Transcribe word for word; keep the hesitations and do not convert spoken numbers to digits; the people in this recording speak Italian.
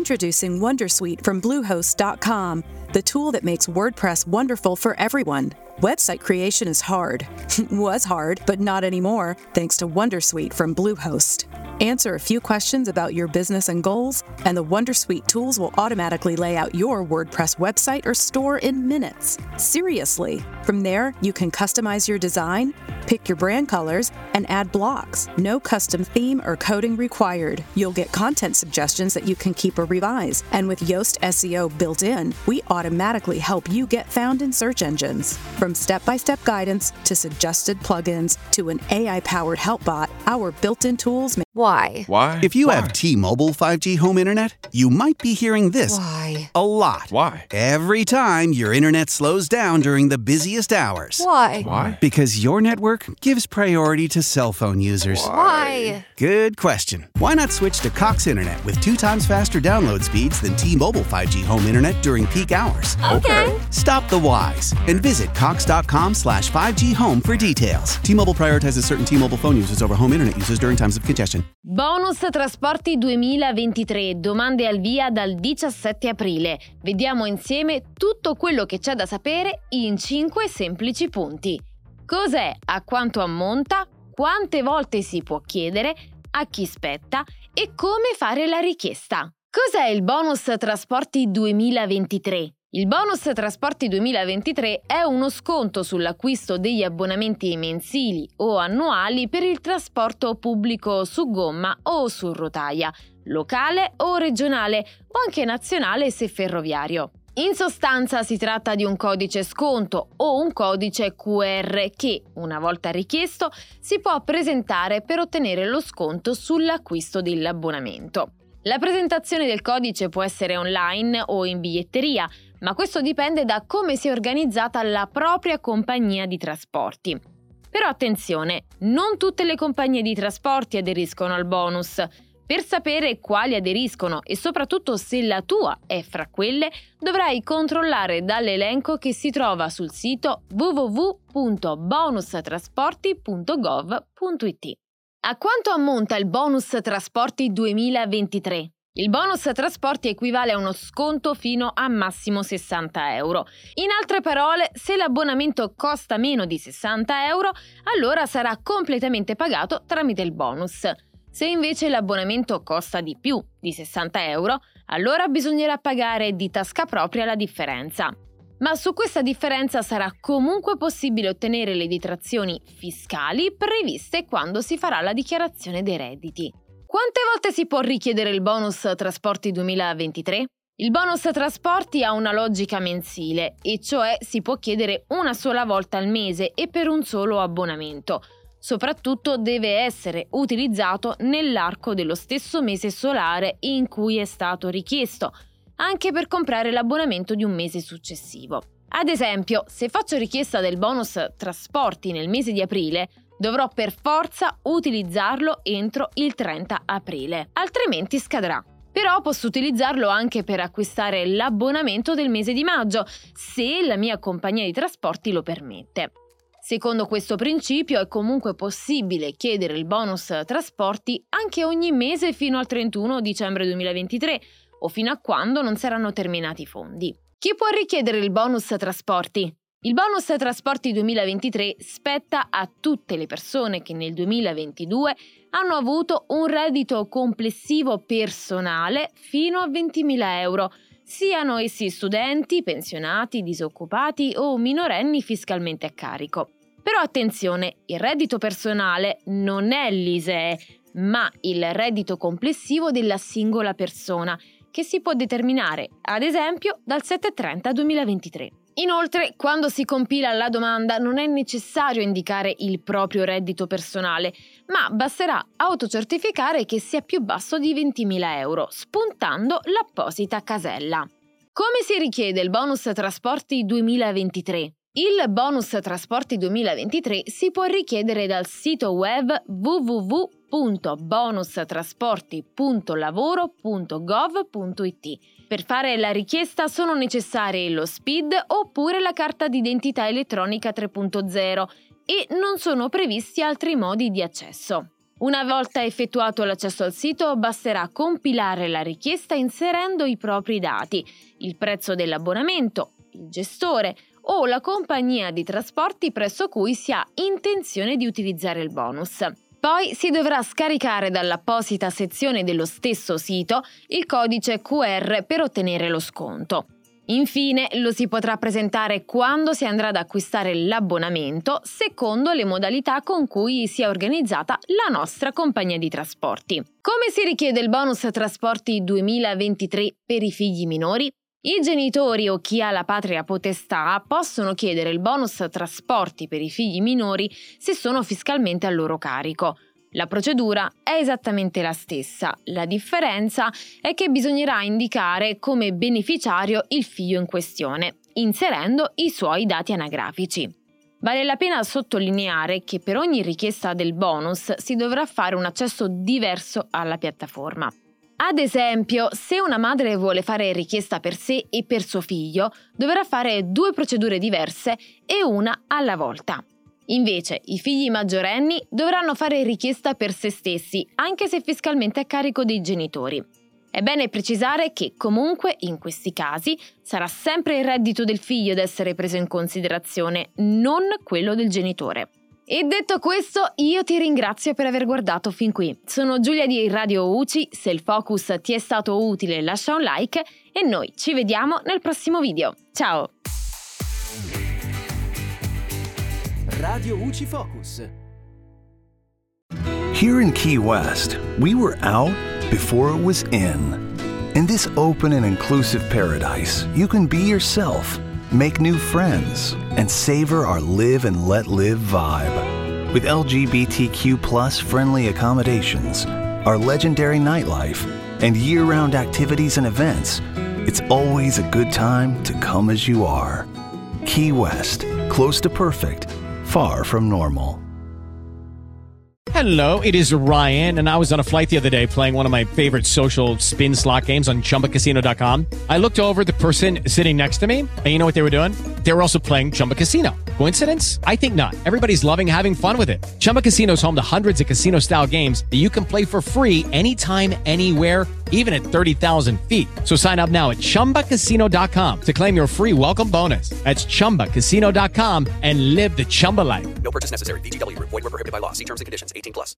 Introducing Wondersuite from Bluehost dot com, the tool that makes WordPress wonderful for everyone. Website creation is hard. Was hard, but not anymore, thanks to Wondersuite from Bluehost. Answer a few questions about your business and goals, and the Wondersuite tools will automatically lay out your WordPress website or store in minutes. Seriously. From there, you can customize your design, pick your brand colors, and add blocks. No custom theme or coding required. You'll get content suggestions that you can keep or revise. And with Yoast S E O built in, we automatically help you get found in search engines. From step-by-step guidance to suggested plugins to an A I-powered help bot, our built-in tools make... Why? Why? If you Why? have T-Mobile five G home internet, you might be hearing this Why? a lot. Why? Every time your internet slows down during the busiest hours. Why? Why? Because your network gives priority to cell phone users. Why? Good question. Why not switch to Cox Internet with two times faster download speeds than T-Mobile five G home internet during peak hours? Okay. Stop the whys and visit cox.com slash 5G home for details. T-Mobile prioritizes certain T-Mobile phone users over home internet users during times of congestion. Bonus Trasporti duemilaventitré, domande al via dal diciassette aprile. Vediamo insieme tutto quello che c'è da sapere in cinque semplici punti. Cos'è, a quanto ammonta, quante volte si può chiedere, a chi spetta e come fare la richiesta. Cos'è il Bonus Trasporti duemilaventitré? Il Bonus Trasporti duemilaventitré è uno sconto sull'acquisto degli abbonamenti mensili o annuali per il trasporto pubblico su gomma o su rotaia, locale o regionale o anche nazionale se ferroviario. In sostanza si tratta di un codice sconto o un codice Q R che, una volta richiesto, si può presentare per ottenere lo sconto sull'acquisto dell'abbonamento. La presentazione del codice può essere online o in biglietteria, ma questo dipende da come si è organizzata la propria compagnia di trasporti. Però attenzione, non tutte le compagnie di trasporti aderiscono al bonus. Per sapere quali aderiscono e soprattutto se la tua è fra quelle, dovrai controllare dall'elenco che si trova sul sito w w w punto bonus trasporti punto gov punto i t. A quanto ammonta il Bonus Trasporti duemilaventitré? Il bonus trasporti equivale a uno sconto fino a massimo sessanta euro. In altre parole, se l'abbonamento costa meno di sessanta euro, allora sarà completamente pagato tramite il bonus. Se invece l'abbonamento costa di più di sessanta euro, allora bisognerà pagare di tasca propria la differenza. Ma su questa differenza sarà comunque possibile ottenere le detrazioni fiscali previste quando si farà la dichiarazione dei redditi. Quante volte si può richiedere il Bonus Trasporti duemilaventitré? Il bonus trasporti ha una logica mensile, e cioè si può chiedere una sola volta al mese e per un solo abbonamento. Soprattutto deve essere utilizzato nell'arco dello stesso mese solare in cui è stato richiesto, anche per comprare l'abbonamento di un mese successivo. Ad esempio, se faccio richiesta del bonus trasporti nel mese di aprile, dovrò per forza utilizzarlo entro il trenta aprile, altrimenti scadrà. Però posso utilizzarlo anche per acquistare l'abbonamento del mese di maggio, se la mia compagnia di trasporti lo permette. Secondo questo principio è comunque possibile chiedere il bonus trasporti anche ogni mese fino al trentuno dicembre duemilaventitré o fino a quando non saranno terminati i fondi. Chi può richiedere il bonus trasporti? Il bonus trasporti duemilaventitré spetta a tutte le persone che nel duemilaventidue hanno avuto un reddito complessivo personale fino a ventimila euro, siano essi studenti, pensionati, disoccupati o minorenni fiscalmente a carico. Però attenzione, il reddito personale non è l'I S E E, ma il reddito complessivo della singola persona, che si può determinare, ad esempio, dal sette trenta duemilaventitré. Inoltre, quando si compila la domanda non è necessario indicare il proprio reddito personale, ma basterà autocertificare che sia più basso di ventimila euro, spuntando l'apposita casella. Come si richiede il bonus trasporti duemilaventitré? Il bonus trasporti duemilaventitré si può richiedere dal sito web w w w punto bonus trasporti punto lavoro punto gov punto i t. Per fare la richiesta sono necessari lo S P I D oppure la carta d'identità elettronica tre punto zero e non sono previsti altri modi di accesso. Una volta effettuato l'accesso al sito, basterà compilare la richiesta inserendo i propri dati, il prezzo dell'abbonamento, il gestore o la compagnia di trasporti presso cui si ha intenzione di utilizzare il bonus. Poi si dovrà scaricare dall'apposita sezione dello stesso sito il codice Q R per ottenere lo sconto. Infine lo si potrà presentare quando si andrà ad acquistare l'abbonamento, secondo le modalità con cui sia organizzata la nostra compagnia di trasporti. Come si richiede il bonus trasporti duemilaventitré per i figli minori? I genitori o chi ha la patria potestà possono chiedere il bonus trasporti per i figli minori se sono fiscalmente a loro carico. La procedura è esattamente la stessa, la differenza è che bisognerà indicare come beneficiario il figlio in questione, inserendo i suoi dati anagrafici. Vale la pena sottolineare che per ogni richiesta del bonus si dovrà fare un accesso diverso alla piattaforma. Ad esempio, se una madre vuole fare richiesta per sé e per suo figlio, dovrà fare due procedure diverse e una alla volta. Invece, i figli maggiorenni dovranno fare richiesta per se stessi, anche se fiscalmente a carico dei genitori. È bene precisare che, comunque, in questi casi, sarà sempre il reddito del figlio ad essere preso in considerazione, non quello del genitore. E detto questo, io ti ringrazio per aver guardato fin qui. Sono Giulia di Radio U C I, se il focus ti è stato utile lascia un like e noi ci vediamo nel prossimo video. Ciao! Radio U C I Focus. Here in Key West, we were out before it was in. In this open and inclusive paradise, you can be yourself, make new friends, and savor our live and let live vibe. With L G B T Q plus friendly accommodations, our legendary nightlife, and year-round activities and events, it's always a good time to come as you are. Key West, close to perfect, far from normal. Hello, it is Ryan, and I was on a flight the other day playing one of my favorite social spin slot games on Chumba Casino dot com. I looked over at the person sitting next to me, and you know what they were doing? They were also playing Chumba Casino. Coincidence? I think not. Everybody's loving having fun with it. Chumba Casino is home to hundreds of casino-style games that you can play for free anytime, anywhere, even at thirty thousand feet. So sign up now at Chumba Casino dot com to claim your free welcome bonus. That's Chumba Casino dot com and live the Chumba life. No purchase necessary. V G W. Void where prohibited by law. See terms and conditions. eighteen plus.